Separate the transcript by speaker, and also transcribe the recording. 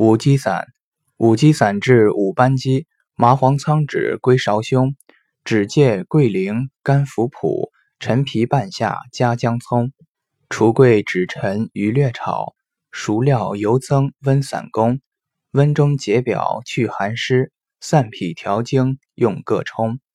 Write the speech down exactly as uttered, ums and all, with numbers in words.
Speaker 1: 五鸡散，五鸡散治五斑鸡，麻黄苍枳归芍胸，枳芥桂苓甘伏朴，陈皮半夏加姜葱，除桂枳陈余略炒，熟料油增温散功，温中解表去寒湿，散痞调经用各冲。